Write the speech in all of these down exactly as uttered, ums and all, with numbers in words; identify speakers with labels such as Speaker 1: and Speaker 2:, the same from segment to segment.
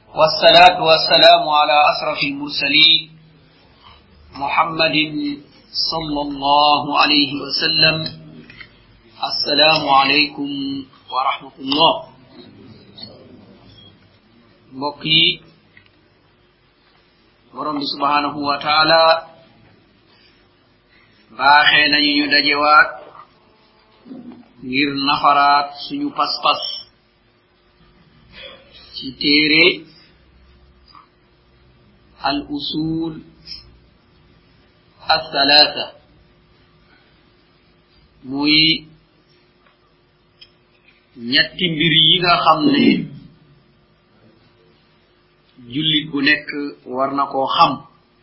Speaker 1: والصلاة والسلام على أشرف المرسلين محمد صلى الله عليه وسلم. السلام عليكم ورحمة الله. بقي borom subhanahu wa ta'ala baaxé nañu ñu dajewaat ngir nafaraat suñu pas-pas ci téré al usul الثلاثة muy ñetti mbir yi nga xamné jullit bu nekk war na koo xam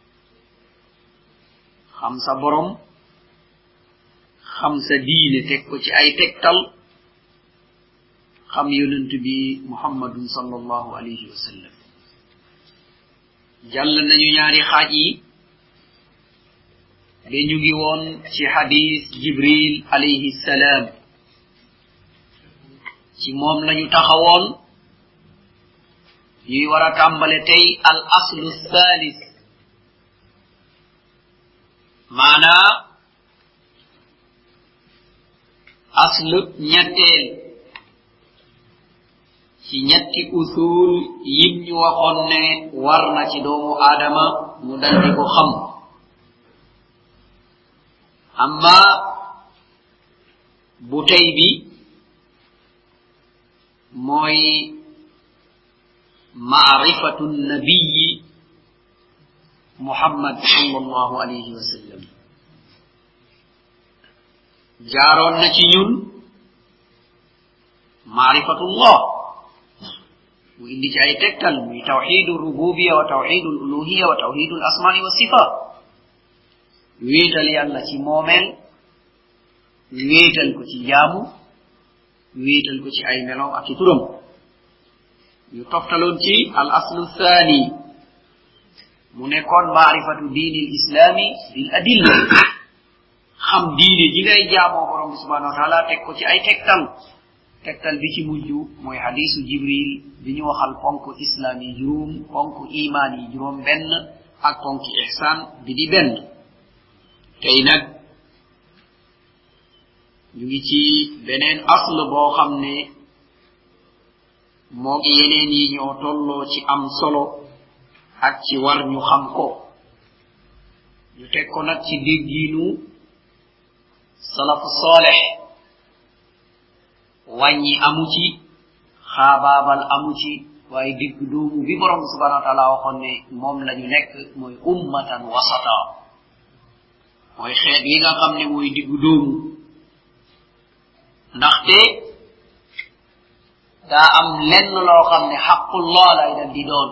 Speaker 1: xam sa borom xam sa diine teg ko ci ay tegtal xam yonent bi muhammadun sallallahu alayhi wa sallam. jàll nañu ñaari xaaj yi de ñu ngi woon ci hadith jibril alayhi salam ci moom lañu taxawoon ñuy wara tambale tay al aslu thalith maana aslu ñettel ci ñetti usul yim ñu waxon ne war na ci doomu adama mu daldi ko xam. amma bu tay bi moy معرفة النبي محمد صلى الله عليه وسلم. جارون نتي ñun معرفة الله وإندي جاي تكتل من توحيد الربوبية وتوحيد الألوهية وتوحيد الأسماء والصفات. ويتل يالله ci momel wétal ko ci jaamu wétal ko ci ay melo ak ci turam. ñu toftaloon ci al aslu thani mu nekkoon maarifatu diini l islami bil adilla xam diine ji ngay jaamoo borom bi subhanahu wa taala teg ko ci ay tegtal tegtal bi ci mujj mooy hadisu jibril bi ñu waxal ponk islam yi juróom ponk iman yi juróom benn ak ponk ihsan bi di benn. tey nag ñu ngi ci beneen asl boo xam ne moo gi yeneen yi ñoo tolloo ci am solo ak ci war ñu xam ko. ñu teg ko nag ci déggiinu salafu salih wàññi amu ci xaabaabal amu ci waaye digg doomu bi borom subhanahu wa taala waxoon ne moom la ñu nekk mooy ummatan wasata mooy xeet yi nga xam ne mooy digg doomu. ndaxte daa am lenn loo xam ne xaqullah lay dal di doon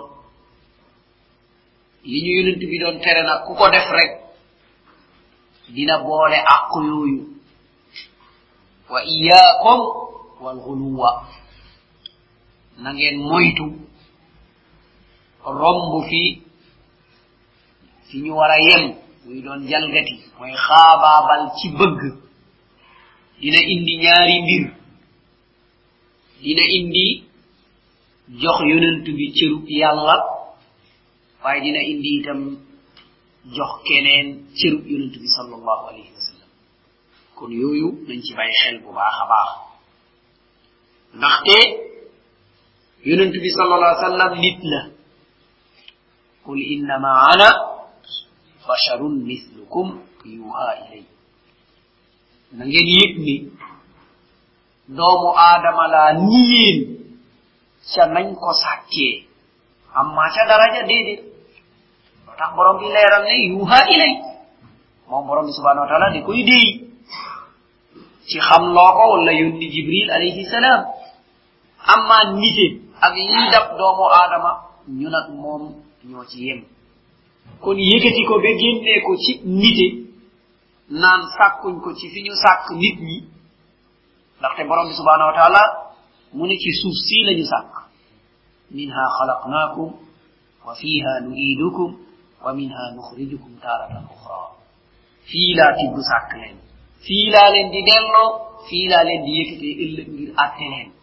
Speaker 1: li ñu yonent bi doon tere nag ku ko def rek dina boole àq yooyu. wa iyaakum wal xuluwa na ngeen moytu romb fi fi ñu war a yem muy doon jalgati mooy xaabaabal ci bëgg dina indi ñaari mbir. dina indi jox yonent bi cëru yàlla waaye dina indi itam jox keneen cëru yonent bi sallallahu alayhi wa sallam. kon yooyu nañ ci bàyyi xel bu baax a baax ndaxte yonent bi sallallahu alayhi wa sallam nit la. qul innama ana basharun mislukum yuha ilay. na ngeen yëg ni doomu aadama laa ni yéen ca nañ ko sàkkee amma ca daraja déedéet. loo tax borom bi leeral ne yuha ilay moom borom bi subhanahu wa taala di koy déy ci xam loo ko wala yónni jibril alayhi salaam. amma nite ak yi dab doomu aadama ñu nag moom ñoo ci yem. kon yëkkati ko ba génnee ko ci nite naan sàkkuñ ko ci fi ñu sàkk nit ñi ndaxte borom bi subhanahu wa taala mu ne ci suuf si lañu sàkk minha khalaqnakum wa fiha nu'idukum wa minha nukhrijukum taratan ukhra. fii laa tibb sàkk leen fii laa leen di delloo fii laa leen di yëkkatee ëllëg ngir àtte leen.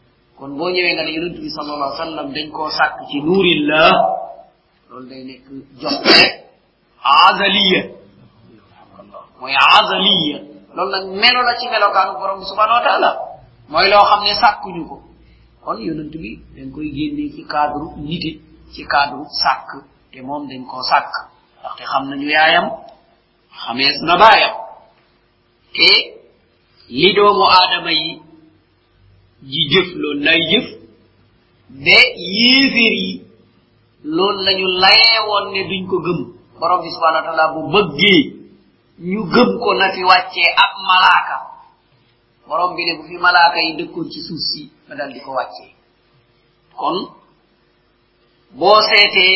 Speaker 1: kon bo ñewé nga ne yonent bi sallallahu alayhi wasallam dañ ko sak ci nurillah lol day nek jox rek azaliya moy azaliya lol nak melo la ci melokaanu borom bi subhanahu wa ta'ala moy lo xamne sakkuñu ko kon yonent bi dañ koy génné ci cadre nité ci cadre sak té mom dañ ko sak ndax té xam nañu yaayam xamees na baayam té li doomu adama yi ji jëf lool lay jëf be yéeféer yi lool lañu layé won né duñ ko gëm borom bi subhanahu wa ta'ala bu bëggé ñu gëm ko na fi wàccee ab malaaka borom bi ne bu fi malaaka yi dëkkoon ci suuf si ma dal di ko wàccee kon boo seetee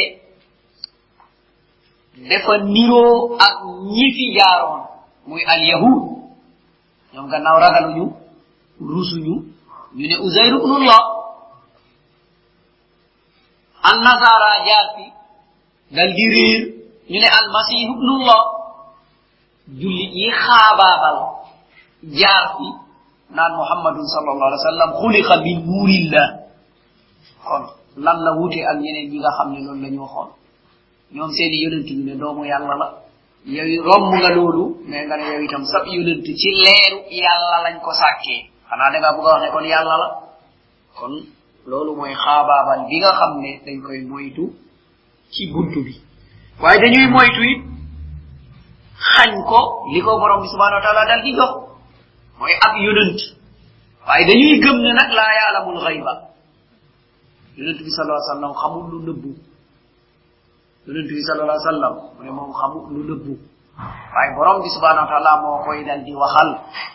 Speaker 1: dafa niroo ak ñi fi jaaroon muy al yahud ñoom gannaaw ragaluñu rusuñu ñu ne uzayr ibnullah an nasara jaar fi dal di réer ñu ne al masih ibnullah jullit yi xaabaabal jaar fi naan muhammadun sallallahu alaihi wasallam khuliqa min nurillah kon lan la wuté ak ñeneen ñi nga xamné loolu lañu waxon ñoom seeni yonent ñu ne doomu yalla la yow romb nga loolu mais nga ne yow itam sab yonent ci leeru yalla lañ ko sàkkee xanaa da nga bëgg wax ne kon yalla la kon loolu mooy xaabaabal bi nga xam ne dañ koy moytu ci buntu bi waaye dañuy moytu it xañ ko li ko borom bi subhanahu wa ta'ala dal di jox mooy ab yonent waaye dañuy gëm ne nag laa yaalamul xayba yonent bi sallallahu alayhi wasallam xamul lu nëbbu yonent bi sallallahu alayhi wasallam mu ne moom xamul lu nëbbu waaye borom bi subhanahu wa ta'ala moo koy dal di waxal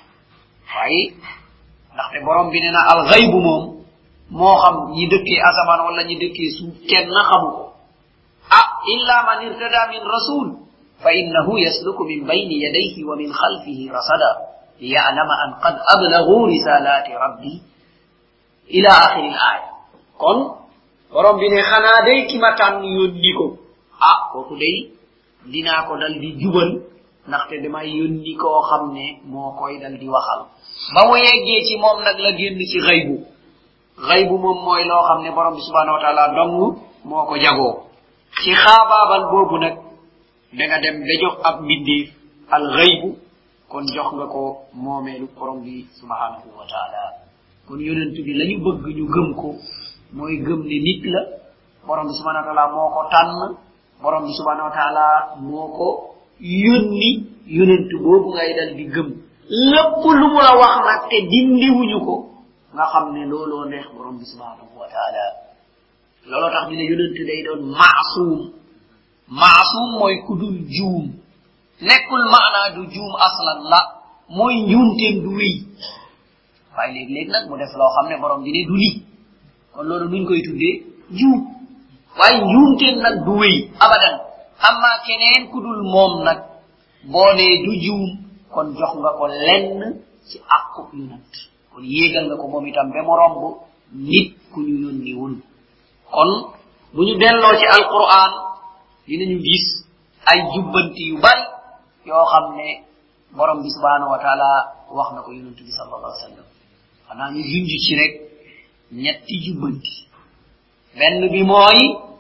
Speaker 1: waaye ndaxte borom bi nee na al xaybu moom moo xam ñi dëkkee asamaan wala ñi dëkkee suuf kenn xamu ko ah illa man irtada min rasul fa innahu yasluku min bayni yadayhi wa min khalfihi rasada liya'lama an qad ablaghu risalati rabbi ila akhir al aya kon borom bi ne xana day ki ma tan yonni ko ah koku day dina ko dal di jubal ndaxte damay yonni ko xamne mo koy dal di waxal ba mu yeggé ci mom nak la genn ci xeybu xeybu mom moy lo xamne borom bi subhanahu wa ta'ala dong moko jago ci xababal bobu nak da nga dem da jox ab bindif al xeybu kon jox nga ko momelu borom bi subhanahu wa ta'ala kon yonent bi lañu bëgg ñu gëm ko moy gëm ni nit la borom bi subhanahu wa ta'ala moko tan borom bi subhanahu wa ta'ala moko yoni yonent bobu ngay dal di gëm lepp lu mu la wax nak te dindi wuñu ko nga xamne lolo neex borom bi subhanahu wa ta'ala lolo tax ñu ne yonent day doon ma'sum ma'sum moy kudul joom nekul maana du joom aslan la moy ñunte du wi way leg leg nak mu def lo xamne borom di ne du li kon lolu nuñ koy tuddé joom way ñunte nak du wi abadan amma keneen kudul mom nak bo ne du joom kon jox nga ko lenn ci akku yonent kon yegal nga ko mom itam be mo rombu nit ku ñu yoni wul kon buñu dello ci alquran dinañu gis ay jubbanti yu bari yo xamne borom bi subhanahu wa ta'ala wax na ko yonent bi sallallahu alayhi wasallam xana ñu junj ci rek ñetti jubbanti benn bi moy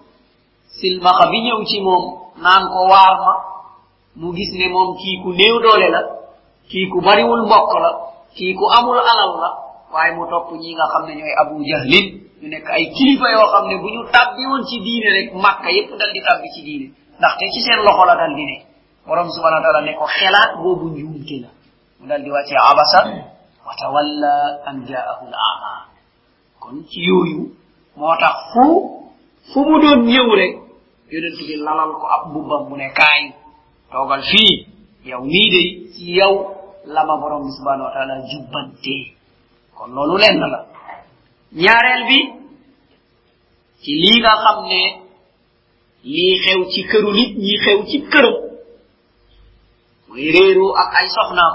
Speaker 1: silmaxa bi ñew ci mom naan ko waar ma mu gis ne mom ki ku neew doole la ki ku bari wul mbokk la ki ku amul alal la waye mu top ñi nga xamne ñoy abu jahlin ñu nek ay kilifa yo xamne buñu tabbi won ci diine rek makka yépp dal di tabbi ci diine ndax te ci seen loxo la dal di ne borom subhanahu wa ta'ala ne ko xelaat bobu njuumte la mu dal di wacce abasa wa tawalla an ja'ahu al-a'ma kon ci yoyu motax fu fu mu doon ñew rek yonent bi lalal ko ab bubam mu ne kay togal fi yow ni de ci yow lama borom subhanahu wa ta'ala jubbante kon lolu lenn la ñaarel bi ci li nga xamne li xew ci këru nit ñi xew ci këru moy reeru ak ay soxnaam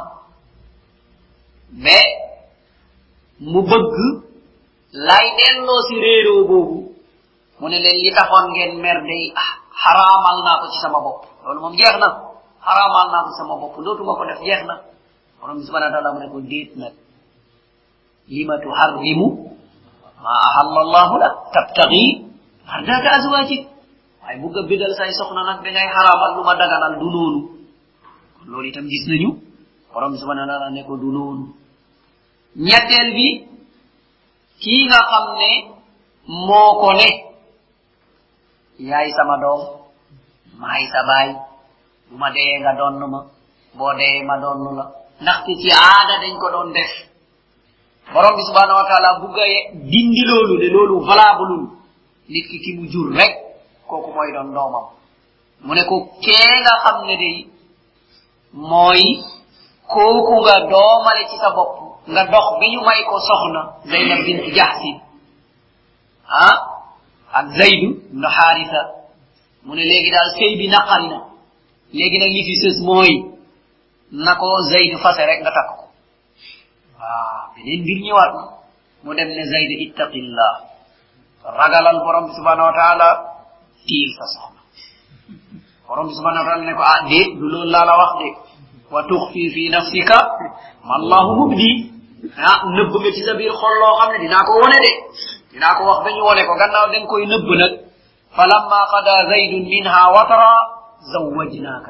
Speaker 1: mais mu bëgg lay delloo ci reero boobu mu ne leen li taxoon ngeen mer day haramal naa ko ci sama bopp loolu moom jeex na haramal naa ko sama bopp dootuma ko def jeex na borom subhanahu wa ta'ala mu ne ko déet nag lima tuharrimu ma ahalla allah la tabtaghi ardaka azwajik ay bu ga bidal say soxna nak da ngay haramal luma daganal du nonu lolu itam gis nañu borom subhanahu wa ta'ala ne ko du nonu ñettel bi ki nga xamne moko ne yaay sama doom maay sa baay bu ma dee nga donn ma boo dee ma donn la ndaxte ci aada dañ ko doon def borom bi subhanahu wa ta'ala bu gaye dindi loolu ne loolu valable nit ki ki mu jur rek kooku mooy doon doomam mu ne ko kee nga xam ne day mooy kooku nga doomale ci sa bopp nga dox bi ñu may ko soxna Zaynab bint Jahsi ah ak Zaydu ibn Haritha mu ne léegi daal sëy bi naqari na léegi nag li fi sës mooy na ko Zaydu fase rek nga takk ko waaw beneen mbir ñëwaat na mu dem ne Zaydu ittaqillah ragalal borom bi subhanahu wa ta'ala tiil sa soxna borom bi subhanahu wa ta'ala ne ko ah déet du loolu laa la wax de wa tukhfi fi nafsika ma Allahu mubdi ah nëbb nga ci sa biir xol loo xam ne dinaa ko wone de dinaa ko wax ba ñu wone ko gannaaw dañ koy nëbb nag falamma qada zaydun minha watara zawwajnaka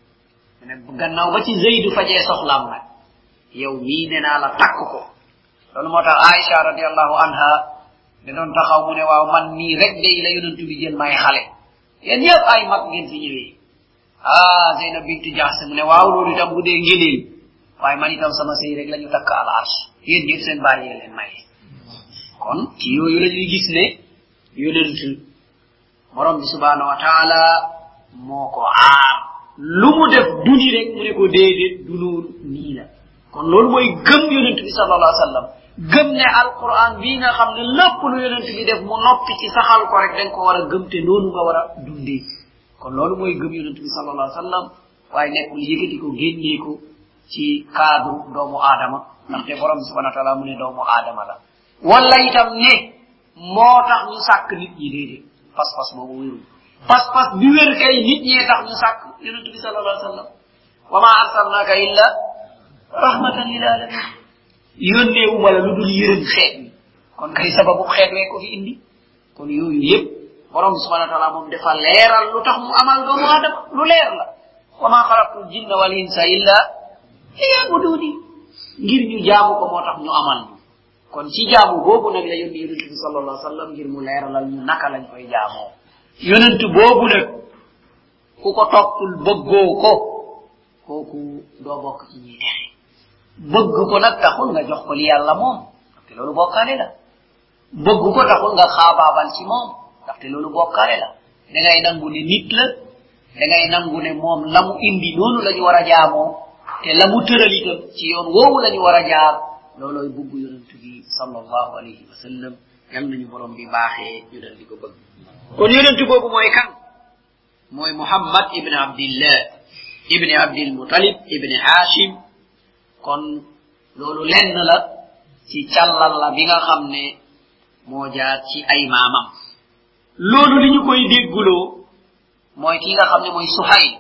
Speaker 1: ne gannaaw ba ci zaydu fajee soxlaam nag yow mii ne naa la takk ko loolu moo tax Aisha radiyallahu anha da doon taxaw mu ne waaw man nii rek day la yonentu bi jël may xale yéen ñëpp ay mag ngeen fi ñëwee ah Zaynab bint Jahsh mu ne waaw loolu itam bu dee ngëneel waaye man itam sama sëy rek la ñu takk al arsh yéen ñëpp seen bàyyi leen may kon ci yooyu la ñuy gis ne yonent borom bi subhanahu wa ta'ala moo ko aar lu mu def duni rek mu ne ko déedéet du noonu nii la kon loolu mooy gëm yonent bi sallallahu alayhi wa sallam gëm ne alquran bii nga xam ne lépp lu yonent bi def mu noppi ci saxal ko rek dañ ko war a gëm te noonu nga war a dundee kon loolu mooy gëm yonent bi sallallahu alayhi wa sallam waaye nekkul yëkkati ko génnee ko ci cadre doomu aadama ndaxte borom bi subhanahu wa ta'ala mu ne doomu aadama la wala itam ne moo tax ñu sàkk nit ñi déedéet pas-pas boobu wérul pas-pas bi wér kay nit ñee tax ñu sàkk yonent bi sallallahu alayhi wa sallam wa ma arsalnaka illa rahmatan lil alamin yónnee wu ma la lu dul yërëm xeet mi kon kay sababu xeet wee ko fi indi kon yooyu yëpp borom bi subhanahu wa ta'ala moom dafa leeral lu tax mu amal doomu aadama lu leer la wa ma xalaqtul jinna wal insa illa liya'buduni ngir ñu jaamu ko moo tax ñu amal ñu kon ci jaamu boobu nag la yónni yonent bi sallallahu alayhi wa sallam ngir mu leeralal ñu naka lañ koy jaamoo yonent boobu nag ku ko toppul bëggoo ko kooku doo bokk ci ñi texe bëgg ko nag taxul nga jox ko li yàlla moom ndaxte loolu bokkaale la bëgg ko taxul nga xaabaabal ci moom ndaxte loolu bokkaale la da ngay nangu ne nit la da ngay nangu ne moom la mu indi noonu la ñu war a jaamoo te la mu tëral itam ci yoon woowu la ñu war a jaar loolooy bugg yonent bi sallallahu alayhi wa sallam yal nañu borom bi baaxee ñu dal di ko bëgg kon yonent boobu mooy kan mooy Muhammad ibn Abdillah ibn Abdil Muttalib ibn Hashim kon loolu lenn la ci càllal la bi nga xam ne moo jaar ci ay maamam loolu li ñu koy dégguloo mooy ki nga xam ne mooy Suhayl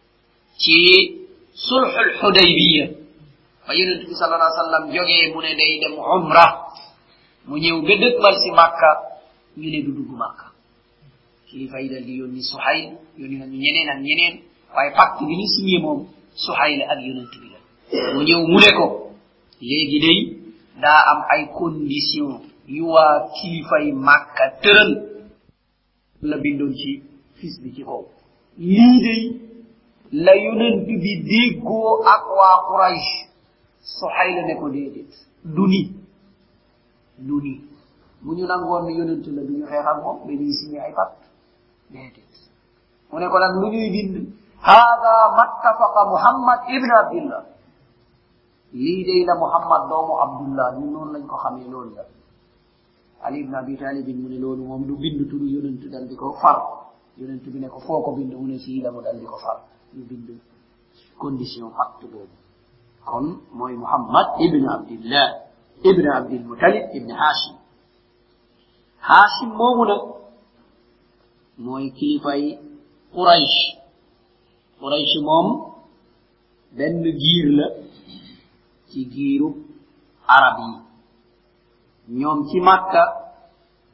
Speaker 1: ci sulhul Hudaybiya ba yonent bi sallallahu alayhi wa sallam jógee mu ne day dem umra mu ñëw ba dëkkmal si Makka ñu ne du dugg Makka kilifa yi dal di yónni Suhayl yónni nañu ñeneen ak ñeneen waaye pacte bi ñu signé moom Suhayl ak yonent bi la mu ñëw mu ne ko léegi day daa am ay condition yu waa kilifa yi Makka tëral la bindoon ci fis bi ci kaw lii day la yonent bi déggoo ak waa Quraysh Suhayl ne ko déedéet du ni du ni bu ñu nangoon ne yonent la du ñu xeex ak moom dañuy signé ay pacte déedéet mu ne ko nag lu ñuy bind hada mattafaqa Muhammad ibn Abdillah lii day la Muhammad doomu Abdullah ñun noonu lañ ko xamee loolu la Ali ibn Abi Talib mu ne loolu moom du bind turu yonent dal di ko far yonent bi ne ko foo ko bind mu ne fii la mu dal di ko far ñu bind condition pacte boobu kon mooy Muhammad ibn Abdillah ibn Abdil Muttalib ibn Hashim Hashim moomu nag mooy kilifay Quraysh Quraysh moom benn giir la ci giiru arab yi ñoom ci Makka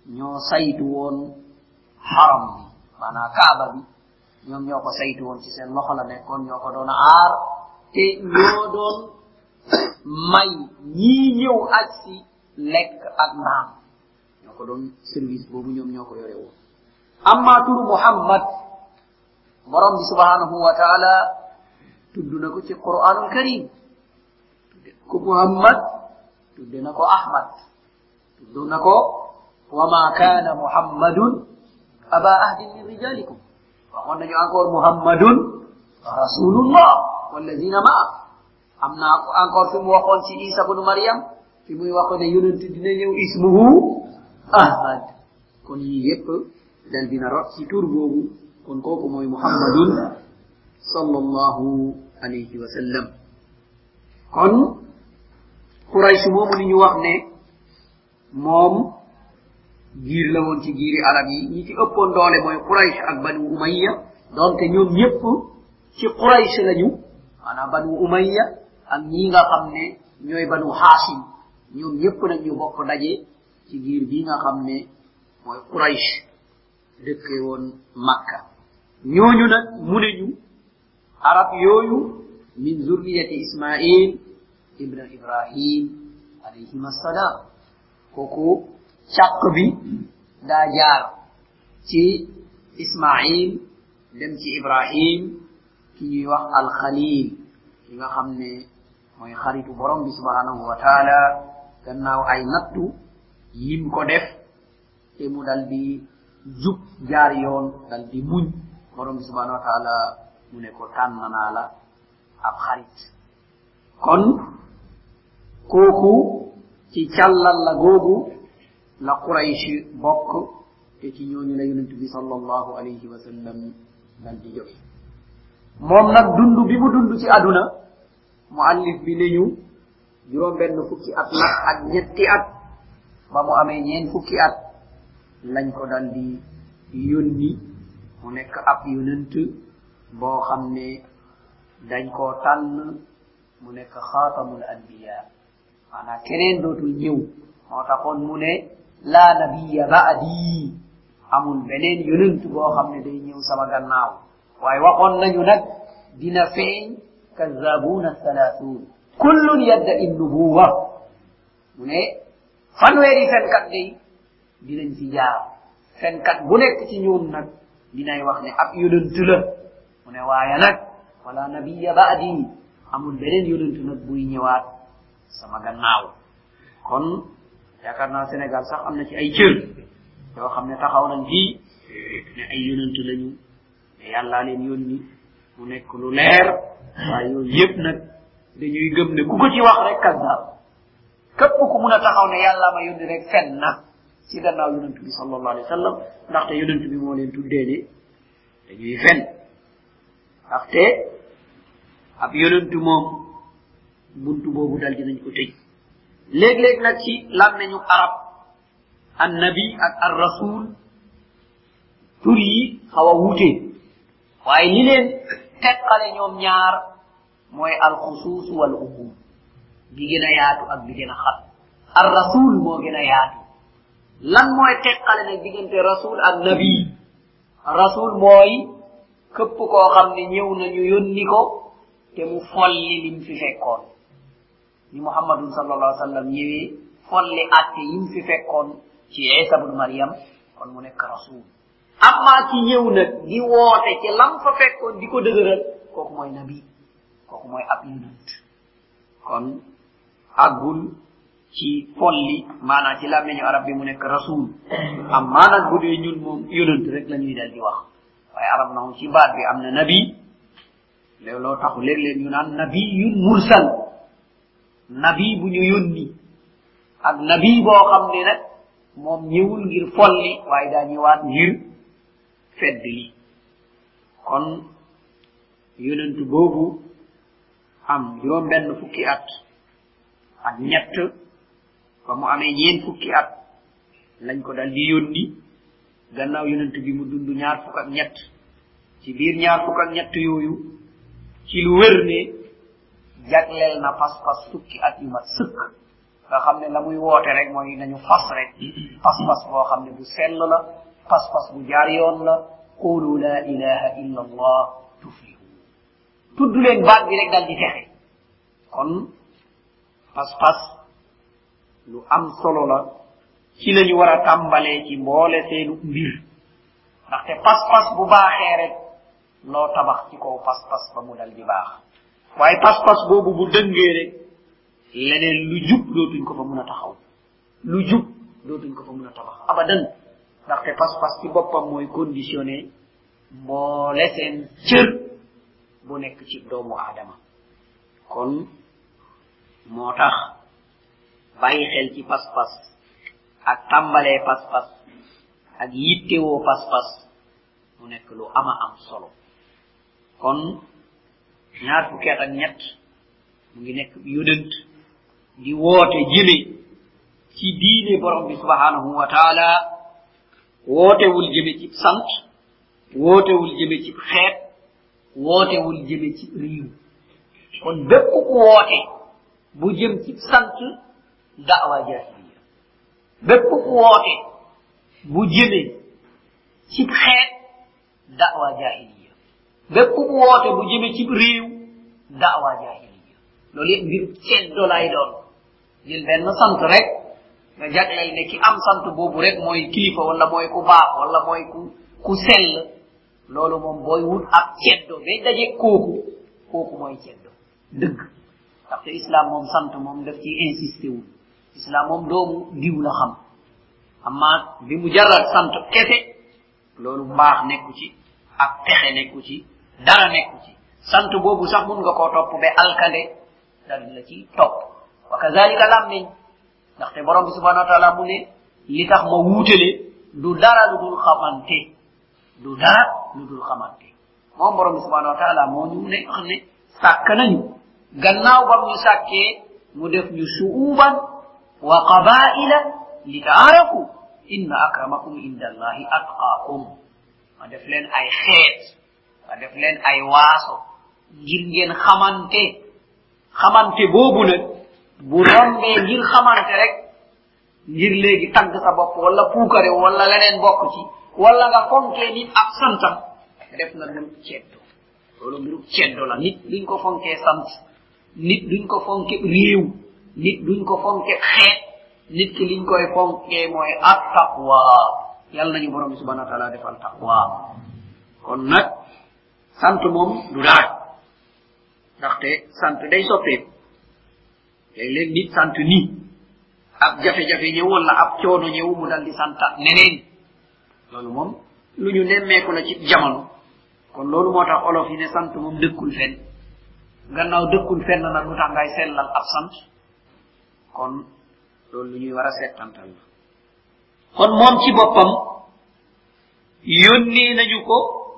Speaker 1: ñoo saytu woon haram bi maanaam kaaba bi ñoom ñoo ko saytu woon ci seen loxo la nekkoon ñoo ko doon aar te ñoo doon may ñii ñëw aj si lekk ak naan ñoo ko doon service boobu ñoom ñoo ko yore woon amma turu muhammad borom bi subhanahu wa taala tudd na ko ci qur'anul karim tudde ko muhammad tudde na ko ahmad tudd na ko wa ma kana muhammadun aba ahdin min rijalikum waxoon nañu encore muhammadun rasulullah walladina ma'a am na encore fi mu waxoon ci isa bnu maryam fi muy waxoon ne yonent dina ñëw ismuhu ahmad kon yi yépp dal dina rot ci tur boobu kon kooku mooy muhammadun sallallahu alayhi wa sallam kon quraysh moomu li ñu wax ne moom giir la woon ci giiri arab yi ñi ci ëppoon doole mooy quraysh ak banu umayya donte ñoom ñëpp ci quraysh lañu maanaam banu umayya ak ñi nga xam ne ñooy banu hashim ñoom ñëpp nag ñu bokk daje ci giir bi nga xam ne mooy quraysh dëkke woon makka ñooñu nag mu ne ñu arab yooyu min zurriyati ismail ibn ibrahim alayhim assalam kooku càq bi daa jaar ci ismail dem ci ibrahim ki ñuy wax alxalil ki nga xam ne mooy xaritu borom bi subhanahu wa taala gannaaw ay nattu yim ko def te mu dal di jub jaar yoon dal di muñ borom bi subhanahu wa taala mu ne ko tànn naa la ab xarit kon kooku ci càllal la googu la quraysh bokk te ci ñooñu la yonent bi sallallahu alayhi wa sallam dal di jóge moom nag dund bi mu dund ci aduna muallif bi ne ñu juróom benn fukki at la ak ñetti at ba mu amee ñeen fukki at lañ ko dal di yónni mu nekk ab yonent boo xam ne dañ koo tànn mu nekk xaatamul anbiya maanaam keneen dootul ñëw moo taxoon mu ne laa nabiya ba'di amul beneen yonent boo xam ne day ñëw sama gannaaw waaye waxoon nañu nag dina feeñ kazzabuna thalathun kullun yadda'i nubuwa mu ne fanweeri fenkat day dinañ fi jaar fenkat bu nekk ci ñoom nag dinay wax ne ab yonent la mu ne waaye nag wala nabiya ba'di amul beneen yonent nag buy ñëwaat sama gannaaw kon yaakaar naa Sénégal sax am na ci ay cër yoo xam ne taxaw nañ fii ne ay yonent lañu ne yàllaa leen yónni mu nekk lu leer waaye yooyu yëpp nag dañuy gëm ne ku ko ci wax rek kazzab képp ku mun a taxaw ne yàllaa ma yónni rek fen na ci gannaaw yonent bi sallallahu alayhi wa sallam ndaxte yonent bi moo leen tuddee ne dañuy fen ndaxte ab yonent moom buntu boobu dal dinañ ko tëj léeg-léeg nag ci làmmeñu arab an nabi ak ar rasul tur yi xaw a wuute waaye li leen teqale ñoom ñaar mooy al xusuus wal umum bi gën a yaatu ak bi gën a xat ar rasul moo gën a yaatu lan mooy teqale nag diggante rasul ak nabi rasul mooy képp koo xam ne ñëw nañu yónni ko te mu folli lim fi fekkoon ni muhammadun sallallahu alaihi wasallam ñëwee folli atte yim fi fekkoon ci isa ibn maryam kon mu nekk rasul amma ki ñëw nag di woote ci lam fa fekkoon di ko dëgëral kooku mooy nabi kooku mooy ab yonent kon àggul ci folli maanaam ci làmmeñu arab bi mu nekk rasul amma nag bu dee ñun moom yonent rek la ñuy dal di wax waaye arab na ci baat bi am na nabi looloo taxu léeg-léeg ñu naan nabiyun mursal nabi bu ñu yónni ak nabi boo xam ne nag moom ñëwul ngir folli waaye daa ñëwaat ngir fedd li kon yonent boobu am juróom benn fukki at ak ñett ba mu amee ñeen fukki at lañ ko dal di yónni gannaaw yonent bi mu dund ñaar fukk ak ñett ci biir ñaar fukk ak ñett yooyu ci lu wér ne jagleel na pas-pas fukki at yu mat sëkk nga xamne la muy wote rek moy nañu fas rek fas fas bo xamne bu sel la fas fas bu jaar yoon la qulu la ilaha illa allah tuflihu tuddu len baat bi rek dal di texe kon fas fas lu am solo la ci lañu wara tambalé ci mbolé seenu mbir ndaxte pas pas bu baaxee rek loo tabax ci kaw pas pas ba mu dal di baax waaye pas pas boobu bu dëngee rek leneen lu jub dootuñ ko fa mën a taxaw lu jub dootuñ ko fa mën a tabax abadan ndaxte pas pas ci boppam mooy conditionné mboole seen cër bu nekk ci doomu aadama kon moo tax bàyyi xel ci pas pas ak tàmbalee pas pas ak yittewoo pas pas mu nekk lu ama am solo kon ñaar fukki at ak ñett mu ngi nekk yonent di woote jëme ci diine borom bi subhanahu wa taala wootewul jëme ci sant wootewul jëme ci xeet wootewul jëme ci riiw kon bépp ku woote bu jëm ci sant da'wa jahiliya bépp ku woote bu jëme ci xeet da'wa jahiliya bépp ku woote bu jëme ci réew da'wa jahiliya loolu yëpp mbiru ceddo lay doon jël benn sant rek nga jagleel ne ki am sant boobu rek mooy kilifa wala mooy ku baax wala mooy ku ku sell loolu moom booy wut ak ceddo ba daje kooku kooku mooy ceddo dëgg ndaxte islam moom sant moom daf ci insisté wul islam moom doomu diw la xam amma bi mu jaral sant kese loolu mbaax nekku ci ak texe nekku ci dara nekku ci sant boobu sax mun nga koo topp ba alkande dal la ci topp wa kazalika lammiñ ndaxte borom bi subhanahu wa taala mu ne li tax ma wuutale du dara lu dul xamante du dara lu dul xamante moom borom bi subhanahu wa taala moo ñu ne wax ne sàkk nañu gannaaw bam ñu sàkkee mu def ñu shu'uban wa qabaila li taarafu inna akramakum inda allahi atqaakum ma def leen ay xeet ma def leen ay waaso ngir ngeen xamante xamante boobu nag bu rombee ngir xamante rek ngir léegi tagg sa bopp wala puukare wala leneen bokk ci wala nga fonkee nit ak santam def nga mbiru ceddo loolu mbiru ceddo la nit duñ ko fonkee sant nit duñ ko fonke réew nit duñ ko fonke xeet nit ki liñ koy fonkee mooy at taqwa yàlla nañu borom bi subhanahu wa taala defal taqwa kon nag sant moom du dara ndaxte sant day soppeeku léeg-léeg nit sant nii ab jafe-jafe ñëw wala ab coono ñëw mu dal di santa neneen loolu moom lu ñu nemmeeku la ci jamono kon loolu moo tax olof yi ne sant moom dëkkul fenn gannaaw dëkkul fenn nag lu tax ngay sellal ab sant kon loolu lu ñuy war a settantal la kon moom ci boppam yónnee nañu ko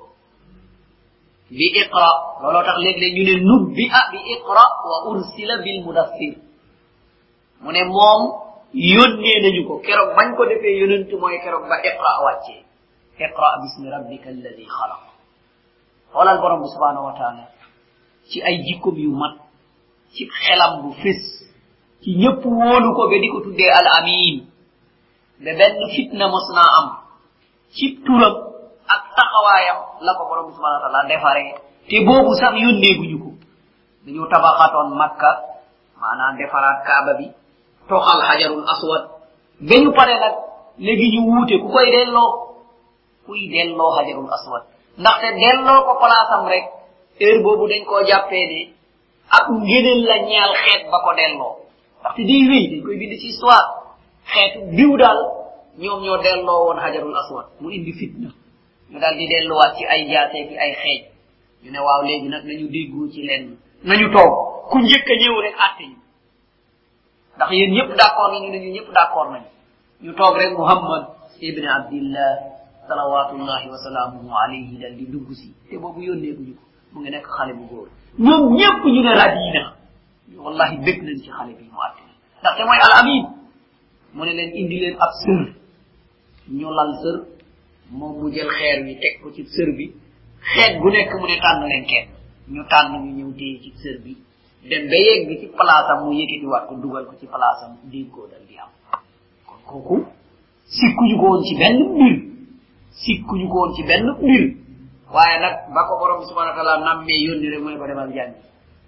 Speaker 1: bi iqra looloo tax léeg-léeg ñu ne nubbi a bi iqra wa ursila bil mudaffir mu ne moom yónnee nañu ko keroog bañ ko defee yonent mooy keroog ba iqra wàccee iqra bismi rabbika alladi xalaq xoolal borom bi subhanahu wa taala ci ay jikkom yu mat ci xelam bu fés ci ñëpp wóolu ko ba di ko tuddee al amin ba benn fitna mos naa am ci turam ak taxawaayam la ko borom bi subhanahu wa taala defaree te boobu sax yónneeguñu ko dañu tabaxatoon makka maanaam defaraat kaaba bi toxal hajarul aswad ba ñu pare nag léegi ñu wuute ku koy delloo kuy delloo hajarul aswad ndaxte delloo ko palaasam rek heure boobu dañ koo jàppee ne ak ngëneel la ñeel xeet ba ko delloo ndaxte day wéy dañ koy bind ci histoire xeetu diw daal ñoom ñoo delloo woon hajarul aswad mu indi fitna ñu daal di delluwaat ci ay jaatee fi ay xeej ñu ne waaw léegi nag nañu déggoo ci lenn nañu toog ku njëkk a ñëw rek àtte ñu ndax yéen ñëpp d'accord nañu ne ñu ñëpp d'accord nañu ñu toog rek muhammad ibn abdillah salawatullahi wa salaamuhu alayhi dal di dugg si te boobu yónneeguñu ko mu ngi nekk xale bu góor ñoom ñëpp ñu ne radina wallahi bëgg nañ ci xale bi mu àtte ndaxte mooy al amin mu ne leen indi leen ab sër ñu lal sër moom mu jël xeer wi teg ko ci sër bi xeet bu nekk mu ne tànn leen kenn ñu tànn ñu ñëw téye ci sër bi dem ba yegg ci place am mu yëkkati waat ko dugal ko ci place am déggoo dal di am kon kooku sikkuñu ko woon ci benn mbir sikkuñu ko woon ci benn mbir waaye nag ba ko borom subhanahu wa ta'ala nammee yónni rek mu ne ko demal jàngi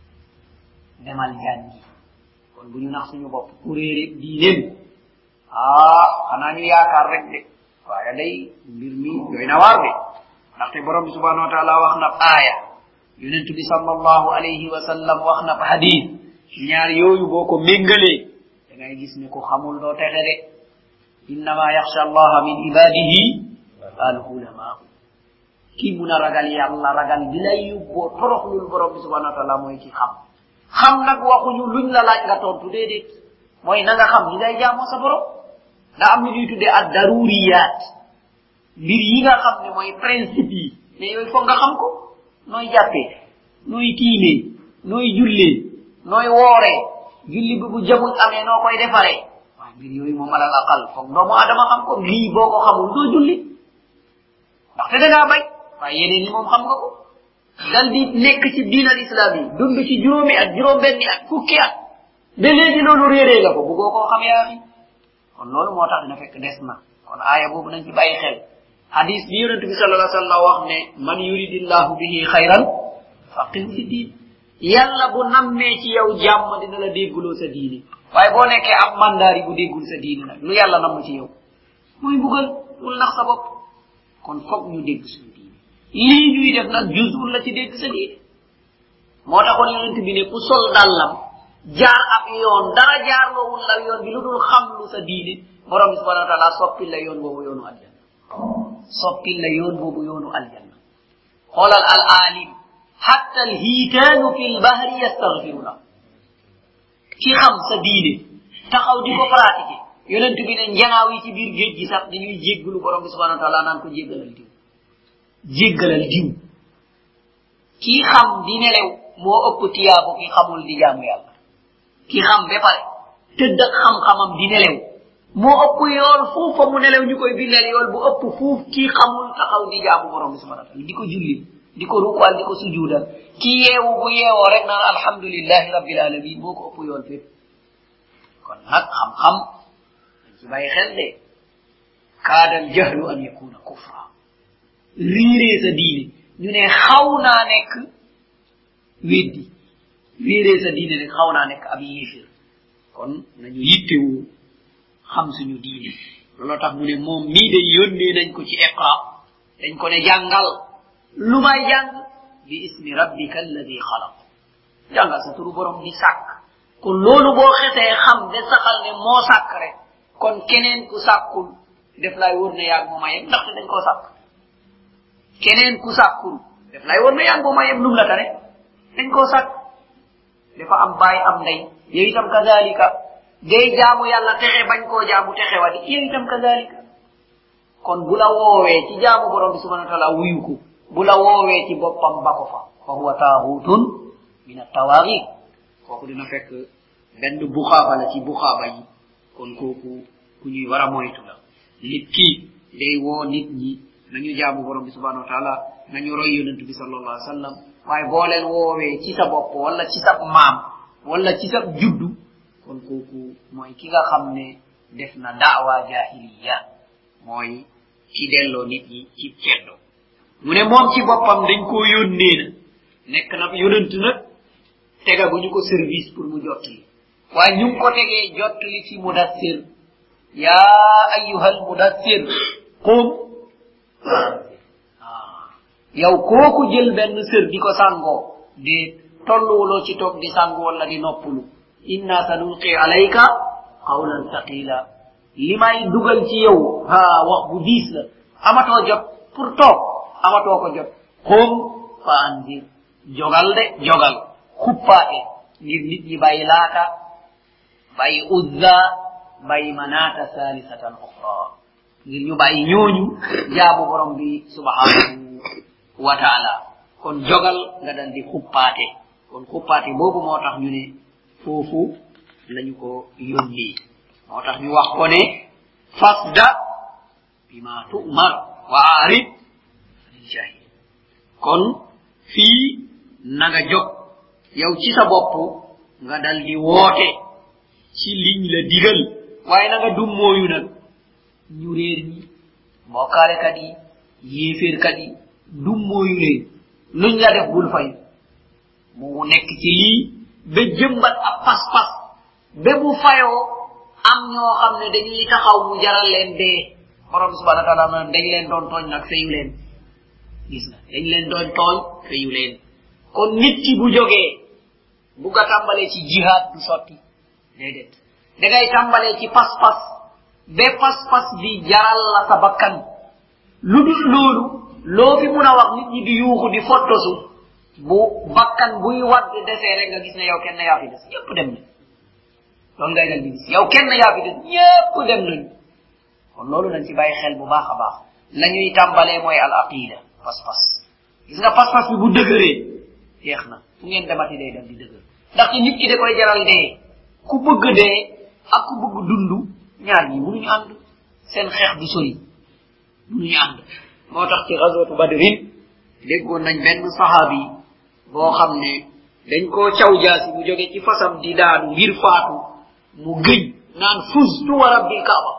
Speaker 1: demal jàngi kon bu ñu nax suñu bopp ku réere diineem ah xanaa ñu yaakaar rek de waaye day mbir mi doy na waar de ndaxte borom bi subhanahu wa ta'ala wax na aaya yonent bi sallallahu alayhi wa sallam wax na hadith ñaar yooyu boo ko méngalee da ngay gis ne ko xamul doo texe de innama yaxsha allaha min ibadihi al ulama ki mun a ragal yàlla ragal bi lay yóbboo toroxlul borom bi subhanahu wa ta'ala mooy ki xam xam nag waxuñu luñ la laaj nga tontu déedéet mooy na nga xam li ngay jaamoo sa borom da am lu ñuy tuddee ad daruriyat mbir yi nga xam ne mooy principe yi mais yooyu foog nga xam ko nooy jàppee nooy tiimee nooy jullee nooy wooree julli bi bu jamul amee noo koy defaree waaye mbir yooyu moom alal aqal foog doomu adama xam ko lii boo ko xamul doo julli ndaxte da ngaa bay waaye yeneen yi moom xam nga ko dal di nekk ci diin al islam yi dund ci juróomi at juróom benni at fukki at ba léegi loolu réeree nga ko buggoo koo xam yaa fi kon loolu moo tax dina fekk des na kon aaya boobu nañ ci bàyyi xel hadis bi yonent bi sallallahu alayhi wasallam wax ne man yuridillahu bihi khayran faqihu fi din yàlla bu nammee ci yow jàmm dina la dégguloo sa diine waaye boo nekkee am mandaari bu déggul sa diine nag lu yàlla namm ci yow muy bugal bul nax sa bopp kon foog ñu dégg suñu diine lii ñuy def nag juzul la ci dégg sa diine moo taxoon yonent bi ne ku sol dàllam jaar ab yoon dara jaarloowul la yoon bi lu dul xam lu sa diine borom bi subhanahu wa ta'ala soppil la yoon boobu yoonu aljanna soppil la yoon boobu yoonu aljanna xoolal al alim hatta al hiitaanu fi l bahri yastaghfiru la ki xam sa diine taxaw di ko pratiquer yonent bi ne njanaaw yi ci biir géej gi sax dañuy jéggalu borom bi subhanahu wa ta'ala naan ko jéggalal diw jéggalal diw kii xam di nelew moo ëpp tiyaabu ki xamul di jaamu yàlla ki xam ba pare tëdd ak xam-xamam di nelew moo ëpp yool fuuf fa mu nelew ñu koy bindal yool bu ëpp fuuf kii xamul taxaw di jaamu borom bi subhanahu wa ta'ala di ko julli di ko rukwal di ko sujuudal ki yeewu bu yeewoo rek naan alhamdulillahi rabbil alamin moo ko ëpp yool fépp kon nag xam-xam dañ ci bàyyi xel de kaadal jahlu an yakuna kufra riiree sa diine ñu ne xaw naa nekk weddi riiree sa diine rek xaw naa nekk ab yéefir kon nañu yittewu xam suñu diine looloo tax mu ne moom mii de yónnee nañ ko ci iqra dañ ko ne jàngal lu may jàng bi ismi rabbika alladi xalaq jàngal sa turu borom di sàkk kon loolu boo xesee xam de saxal ne moo sàkk rek kon keneen ku sàkkul def lay wóor ne yaag mooma yem ndaxte dañ koo sàkk keneen ku sàkkul def lay wóor ne yaag mooma yem lum la tane dañ koo sàkk dafa am baay am ndey yow itam kazalika day jaamu yàlla texe bañ koo jaamu texe wadi yow itam kazalika kon bu la woowee ci jaamu borom bi subhanahu wa ta'ala wuyu ko bu la woowee ci boppam bako fa fa huwa taahutun min at-tawaghit kooku dina fekk benn buxaaba la ci buxaaba yi kon kooku ku ñuy war a moytu la nit ki day woo nit ñi nañu jaamu borom bi subhanahu wa ta'ala nañu roy yonent bi sallallahu alayhi wasallam waaye boo leen woowee ci sa bopp wala ci sa maam wala ci sa juddu kon kooku mooy ki nga xam ne def na da'wa jahiliya mooy ki delloo nit ñi ci ceddo mu ne moom ci boppam dañ koo yónnee na nekk na yonent nag tega bu ñu ko service pour mu jottali waaye ñu ngi ko tegee jottali ci mudassir yaa ayyuhal mudassir qum yow kooku jël benn sër di ko sàngoo di tolluwuloo ci toog di sàngu wala di noppulu inna sanulqi alayka qawlan thaqila li may dugal ci yow ha wax bu diis la amatoo jot pour toog amatoo ko jot qum fa anzir jogal de jogal xuppaate ngir nit ñi bàyyi laata bàyyi uzza bàyyi manata salisatan ukhra ngir ñu bàyyi ñooñu jaamu borom bi subhanahu wa ta'ala kon jogal nga dal di xuppaate kon xuppaate boobu moo tax ñu ne foofu lañu ko yónni moo tax ñu wax ko ne fasda bima tu'mar wa arid anil jahil kon fii na nga jog yow ci sa bopp nga dal di woote ci liñ la digal waaye na nga dum mooyu nag ñu réer ñi bokkaalekat yi yéeféerkat yi dum mooyu leen luñ la def bul fay mu nekk ci lii ba jëmbat ab pas-pas ba bu fayoo am ñoo xam ne dañuy taxaw mu jaral leen dee borom subhanahu wa ta'ala dañ leen doon tooñ nag fayu leen gis nga dañ leen doon tooñ fayu leen kon nit ki bu jógee bu ga tàmbalee ci jihad du sotti déedéet da ngay tàmbalee ci pas-pas ba pas-pas bi jaral la sa bakkan lu dul loolu loo fi mun a wax nit ñi di yuuxu di fottosu bu bakkan buy wadd desee rek nga gis ne yow kenn yaa fi des ñëpp dem na loolu ngay dal di gis yow kenn yaa fi des ñëpp dem nañu kon loolu dañ ci bàyyi xel bu baax a baax la ñuy tàmbalee mooy al aqida pas-pas gis nga pas-pas bi bu dëgëree jeex na fu ngeen demati day dem di dëgër ndaxte nit ki da koy jaral dee ku bëgg dee ak ku bëgg dund ñaar ñi mënuñu ànd seen xeex du sori mënuñu ànd moo tax ci ghazwatu badrin déggoon nañ benn sahabi boo xam ne dañ koo caw jaasi mu jóge ci fasam di daanu ngir faatu mu gëj naan fustu wa rabbil kaaba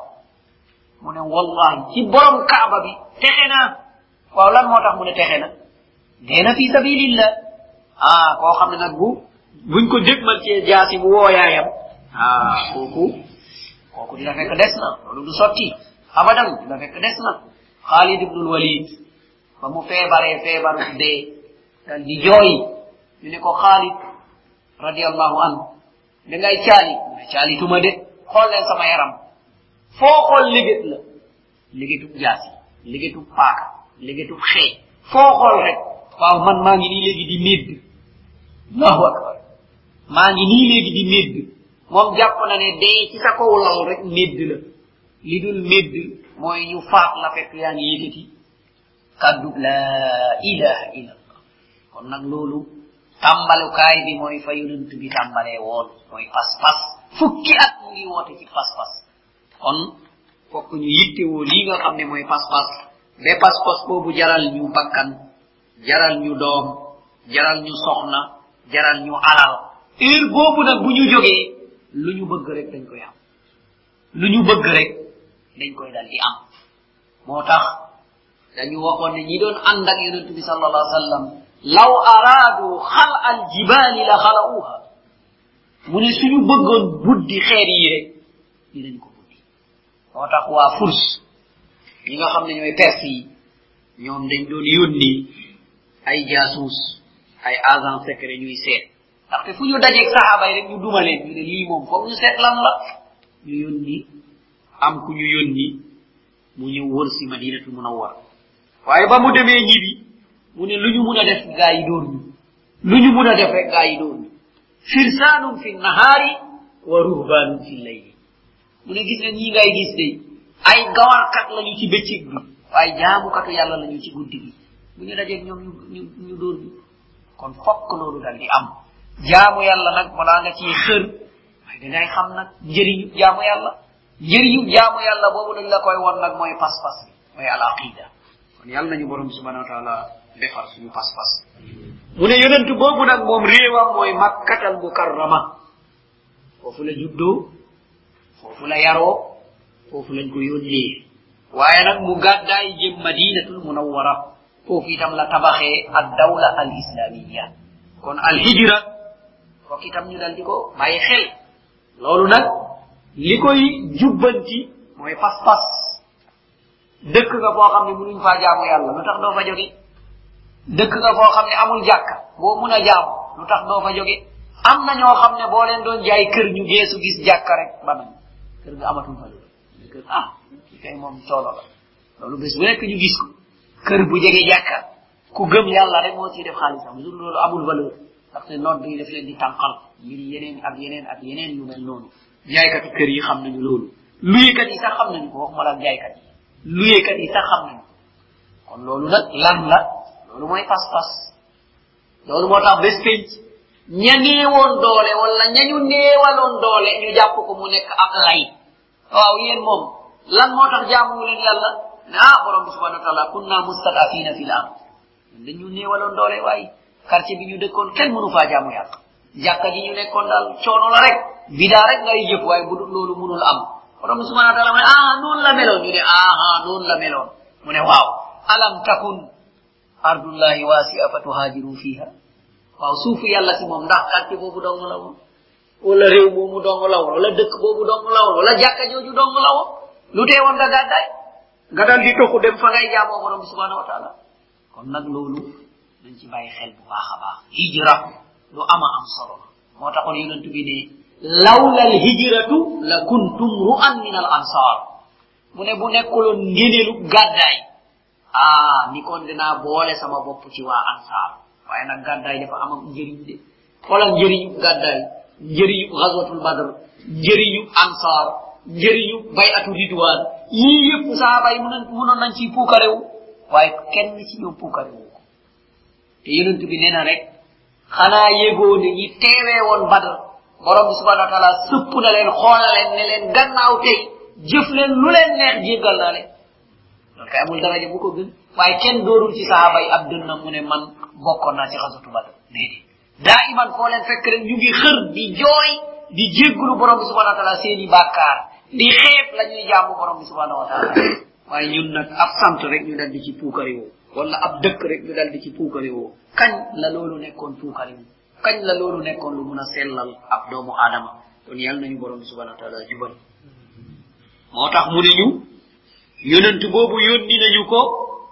Speaker 1: mu ne wallahi ci borom kaaba bi texe naa waaw lan moo tax mu ne texe na dee na fi sabilillah ah koo xam ne nag bu buñ ko dégmal ci jaasi mu woo yaayam ah kooku kooku dina fekk des na loolu du sotti abadan dina fekk des na Khalid ibn Walid ba mu feebaree feebaru dee dal di jooy ñu ne ko Khalid radiyallahu anhu da ngay caali mu ne caali tuma de xool leen sama yaram foo xool liggéet la liggéetub jaasi liggéetub paaka liggéetub xee foo xool rek waaw man maa ngi nii léegi di médd allahu akbar maa ngi nii léegi di médd moom jàpp na ne dee ci sa kaw lal rek médd la li dul médd mooy ñu faat la fekk yaa ngi yëkkati kaddu la ilaha illallah kon nag loolu tàmbalukaay bi mooy fa yonent bi tàmbalee woon mooy pas-pas fukki at mu ngi woote ci pas-pas kon fokk ñu yittewoo lii nga xam ne mooy pas-pas ba pas-pas boobu jaral ñu bakkan jaral ñu doom jaral ñu soxna jaral ñu alal heure boobu nag bu ñu jógee lu ñu bëgg rek dañ koy am lu ñu bëgg rek dañ koy dal di am moo tax dañu waxoon ne ñi doon ànd ak yonent bi sallallahu alayhi wa sallam law araadu xal al jibaali la xalauha mu ne suñu bëggoon buddi xeer yi rek dinañ ko buddi moo tax waa furs ñi nga xam ne ñooy perse yi ñoom dañ doon yónni ay jaasuus ay agent secret ñuy seet ndaxte fu ñu dajeeg saxaaba yi rek ñu duma leen ñu ne lii moom foog ñu seet lan la ñu yónni am ku ñu yónni mu ñëw wër si madinatul munawwar waaye ba mu demee ñibi mu ne lu ñu mun a def gaa yi dóor ñu lu ñu mun a def rek gaa yi dóor ñu firsaanum fi nahaari wa ruhbaanum fi layli mu ne gis nga ñii ngay gis de ay gawarkat lañu ci bëccëg bi waaye jaamukatu yàlla lañu ci guddi gi bu ñu dajeeg ñoom ñu ñu ñu dóor ñu kon fokk loolu dal di am jaamu yàlla nag balaa nga ciy xër waaye dangay xam nag njëriñu jaamu yàlla njëriñu jaamu yàlla boobu dañ la koy won nag mooy pas-pas bi mooy al aqida kon yàlla nañu borom subhanahu wa taala defar suñu pas-pas mu ne yonent boobu nag moom réewam mooy makkatal mukarrama foofu la juddoo foofu la yaroo foofu lañ ko yónnee waaye nag mu gàddaay jëm madinatul munawwara foofu itam la tabaxee ad dawla al islamiyya kon al hijra fokk itam ñu dal di ko bàyyi xel loolu nag li koy jubbanti mooy pas-pas dëkk nga foo xam ne mënuñ faa jaamu yàlla lu tax doo fa jóge dëkk nga foo xam ne amul jàkka boo mun a jaamu lu tax doo fa jóge am na ñoo xam ne boo leen doon jaay kër ñu geesu gis jàkka rek ba nañ kër nga amatul valeur kër ah ki kay moom coono la loolu bés bu nekk ñu gis ko kër bu jege jàkka ku gëm yàlla rek moo ciy def xaalisam lu loolu amul valeur ndaxte nodd yi daf leen di tànqal ngir yeneen ak yeneen ak yeneen yu mel noonu jaaykatu kër yi xam nañu loolu luyekat yi sax xam nañu ko waxuma la jaaykat yi luyekat yi sax xam nañu kon loolu nag lan la loolu mooy pas-pas loolu moo tax bés penc ña néewoon doole wala ñañu néewaloon doole ñu jàpp ko mu nekk ak lay waaw yéen moom lan moo tax jaamu leen yàlla ne ah borom bi subhanahu wa taala kunna mustadafina fil ard dañu néewaloon doole waaye quartier bi ñu dëkkoon kenn mënu faa jaamu yàlla jàkka ji ñu nekkoon daal coono la rek bidaa rek ngay jëf waaye bu dul loolu mënul am borom subhanahu wa ta'ala mu ne ah noonu la meloon ñu ne ah noonu la meloon mu ne waaw alam takun ardullahi wasi'a fatuhajiru fiha waaw suufu yàlla si moom ndax quartier boobu dong la woon wala réew moomu dong la woon wala dëkk boobu dong la woon wala jàkka jooju dong la woon lu tee woon nga gàddaay nga dal di tokku dem fa ngay jaamoo borom subhanahu wa ta'ala kon nag loolu dañ ci bàyyi xel bu baax a baax hijra lu ama am solo moo taxoon yonent bi ne lawla al hijratu la kuntum ru'an min al ansar mu ne bu nekkuloon ngéneelu gàddaay ah ni kon dinaa boole sama bopp ci waa ansar waaye nag gàddaay dafa am njëriñ de xoolal njëriñu gàddaay njëriñu ghazwatul badr njëriñu ansar njëriñu bay'atu ridwan yii yëpp saaba yi mënoon nañ ci puukarewu waaye kenn ci ñoom puukarewu ko te yonent bi nee na rek xanaa yégoo ne ñi teewee woon badr borom bi subhanahu wa ta'ala sëpp na leen xool leen ne leen gannaaw tey jëf leen lu leen neex jéggal naa leen loolu kay amul daraja bu ko gën waaye kenn doorul ci saaba yi ab dënna mu ne man bokkoon naa ci ghazwatu badr déedéet daa iman foo leen fekk rek ñu ngi xër di jooy di jéggulu borom bi subhanahu wa ta'ala seeni bàkkaar di xeeb la ñuy jaamu borom bi subhanahu wa ta'ala waaye ñun nag ab sant rek ñu dal di ci puukari woo wala ab dëkk rek ñu dal di ci puukari woo kañ la loolu nekkoon puukari woo kañ la loolu nekkoon lu mun a sellal ab doomu aadama kon yàlla nañu borom bi subhanahu wa ta'ala jubal moo tax mu ne ñu yonent boobu yónni nañu ko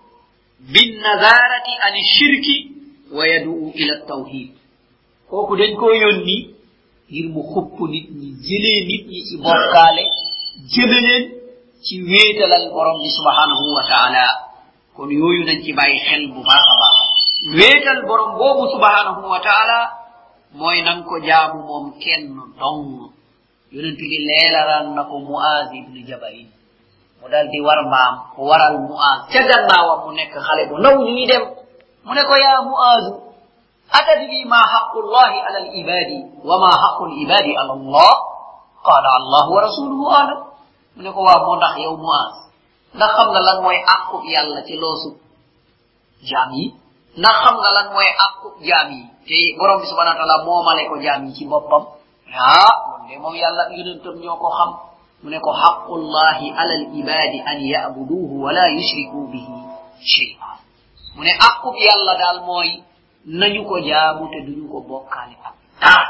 Speaker 1: bin nazarati ani shirki wa yad'u ila tawhid kooku dañ ko yónni ngir mu xupp nit ñi jëlee nit ñi ci bokkaale jëme leen ci wéetalal borom bi subhanahu wa ta'ala kon yooyu nañ ci bàyyi xel bu baax a baax wéetal borom boobu subhanahu wa ta'ala mooy nang ko jaamu moom kenn dong yonent bi leelalaan na ko Muaz ibn Jabal mu dal di war mbaam ko waral Muaz ca gannaawam mu nekk xale bu ndaw ñuy dem mu ne ko yaa Muaz atadri ma haqqu llahi ala al ibadi wa ma haqqu al ibadi ala allah qala allah wa rasuluhu alam mu ne ko waa moo ndax yow Muaz ndax xam nga lan mooy àqu yàlla ci loosu jaam yi ndax xam nga lan mooy àqu jaam yi te borom bi subhanahu wa ta'ala moomale ko jaam yi ci boppam ah loolu de moom yàlla yonentam ñoo ko xam mu ne ko haqqullahi ala al ibadi an ya'buduhu wa la yushriku bihi shay'a mu ne àqu yàlla daal mooy nañu ko jaamu te duñu ko bokkaale ak dara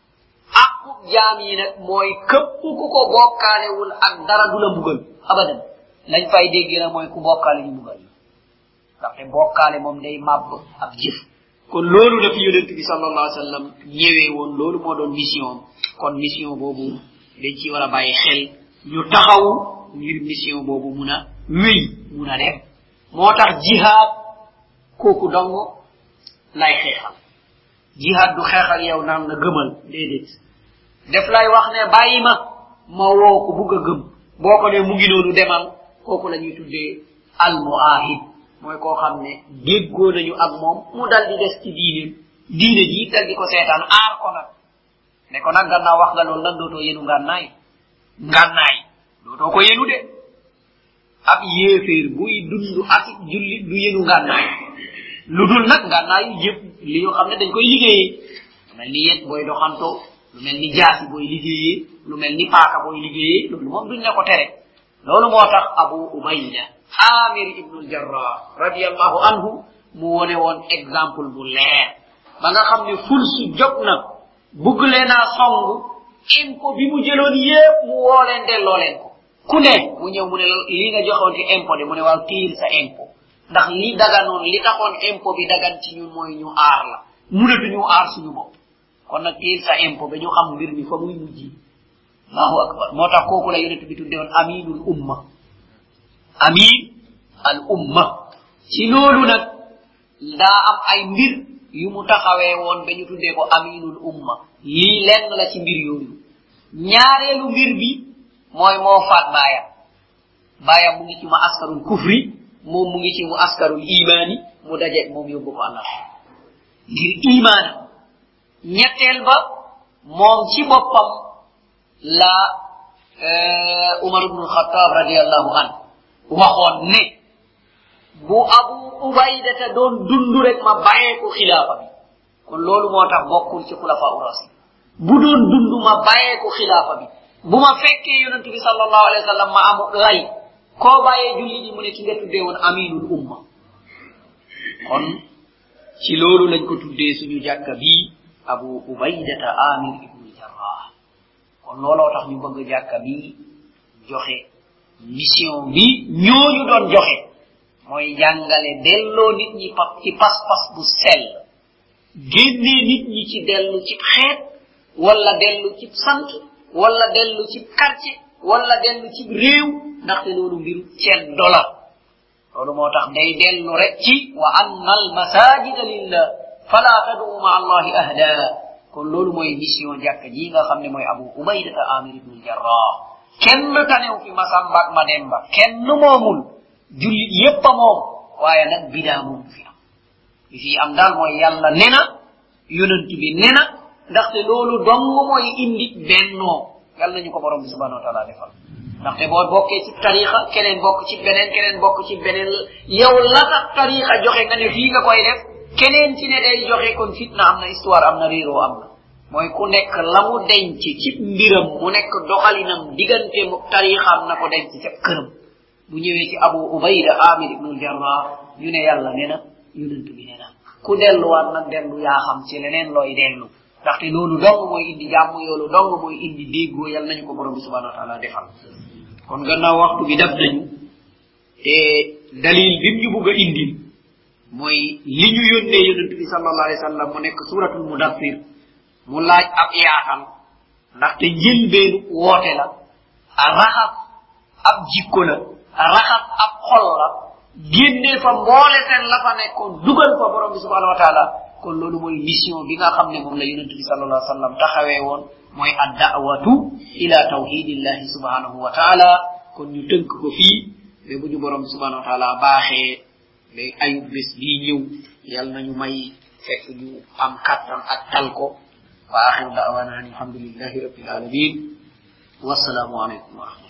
Speaker 1: àqu jaam yi nag mooy képp ku ko bokkaalewul ak dara du la mbugal abadan lañ fay dégg na mooy ku bokkaale ñu mbugal ndaxte bokkaale moom day màbb ab jëf kon loolu la fi yonent bi sallallahu alayhi wa sallam ñëwee woon loolu moo doon mission kon mission boobu dañ ci war a bàyyi xel ñu taxaw ngir mission boobu mun a wéy mun a dem moo tax jihaad kooku dong lay xeexal jihaad du xeexal yow naan la gëmal déedéet def lay wax ne bàyyi ma ma woo ko bugg a gëm boo ko ne mu ngi noonu demal kooku la ñuy tuddee al muahid mooy koo xam ne déggoo nañu ak moom mu dal di des ci diine diine ji dal di ko seetaan aar ko nag ne ko nag gannaaw wax nga loolu nag dootoo yenu ngànnaay ngànnaay dootoo ko yenu de ab yéeféer buy dund ak jullit du yenu ngànnaay lu dul nag ngànnaay yu yëpp li yoo xam ne dañ koy liggéeyee lu mel ni yet booy doxantoo lu mel ni jaasi booy liggéeyee lu mel ni paaka booy liggéeyee loolu moom duñ ne ko tere loolu moo tax Abu Ubayda Amir ibn al-Jarrah radiyallahu anhu mu wone woon exemple bu leer ba nga xam ne ful su jóg na bugg leen a songu impôt bi mu jëloon yépp mu woo leen delloo leen ko ku ne mu ñëw mu ne lii nga joxoon ci impôt de mu ne waaw tiil sa impôt ndax lii daganoon li taxoon impôt bi dagan ci ñun mooy ñu aar la mënatuñu aar suñu bopp kon nag tiil sa impôt ba ñu xam mbir mi fa muy mujji allahu akbar moo tax kooku la yonent bi tudde woon aminul umma amin al umma ci loolu nag daa am ay mbir yu mu taxawee woon ba ñu tuddee ko aminul umma lii lenn la ci mbir yooyu ñaareelu mbir bi mooy moo faat baayam baayam mu ngi ci mu askarul kufri moom mu ngi ci mu askarul imaani mu dajeeg moom yóbbu ko allah ngir imaanam ñetteel ba moom ci boppam la Umar ibn al-Khattab radiyallahu anhu waxoon ne bu Abu Ubayda ta doon dundu rek ma bàyyee ko xilaafa bi kon loolu moo tax bokkul ci xulafa urasi bu doon dund ma bàyyee ko xilaafa bi bu ma fekkee yonent bi sallallahu alayhi wa sallam ma am lay koo bàyyee julli di mu ne ki nga tuddee woon aminul umma kon ci loolu lañ ko tuddee suñu jàkka bi abu ubaydata amir ibnu jarrah kon looloo tax ñu bëgg jàkka bi joxe mission bi ñooñu doon joxe mooy jàngale delloo nit ñi pa ci pas-pas bu sell génnee nit ñi ci dellu ci xeet wala dellu ci sant wala dellu ci quartier wala dellu ci réew ndaxte loolu mbiru ceen dola loolu moo tax day dellu rek ci wa anna al masajida lillah fala tad'u ma allahi ahda kon loolu mooy mission jàkka ji nga xam ne mooy abu ubaydata amir ibn jarrah kenn tanew fi masamba ak mademba kenn moomul jullit yépp a moom waaye nag bidaa moom fi am li fi am daal mooy yàlla nena yonent bi nena ndaxte loolu dong mooy indi bennoo yàlla nañu ko borom bi subhanahu wa taala defal ndaxte boo bokkee ci tarixa keneen bokk ci beneen keneen bokk ci beneen yow la tax tarixa joxe nga ne fii nga koy def keneen ci ne day joxe kon fitna am na histoire am na réeroo am na mooy ku nekk la mu denc ci mbiram mu nekk doxalinam diggante mu tarixam na ko denc ca këram bu ñëwee ci abu ubayda amir ibnul jarrah ñu ne yàlla nee na yonent bi nee na ku delluwaat nag dellu yaa xam ci leneen looy dellu ndaxte loolu dong mooy indi jàmm yoolu dong mooy indi déggoo yàlla nañu ko borom bi subhanahu wa taala defal kon gannaaw waxtu bi daf nañu te dalil bi ñu bugg a indil mooy li ñu yónnee yonent bi sallallahu alayhi wa sallam mu nekk suratul mudaffir mu laaj ab yaatal ndaxte njëlbeenu woote la a raxas ab jikko la a raxas ab xol la génnee fa mboole seen la fa nekkoon dugal fa borom bi subhanahu wa taala kon loolu mooy mission bi nga xam ne moom la yonent bi sallallahu alayhi wa sallam taxawee woon mooy ad da'watu ila tawhidillahi subhanahu wa taala kon ñu tënk ko fii ba bu ñu borom bi subhanahu wa taala baaxee ba ayub bés bii ñëw yàlla nañu may fekk ñu am kattan ak tal ko wa axiru da'wana alhamdulillahi rabbil alamin wassalaamu alaykum wa rahmatullah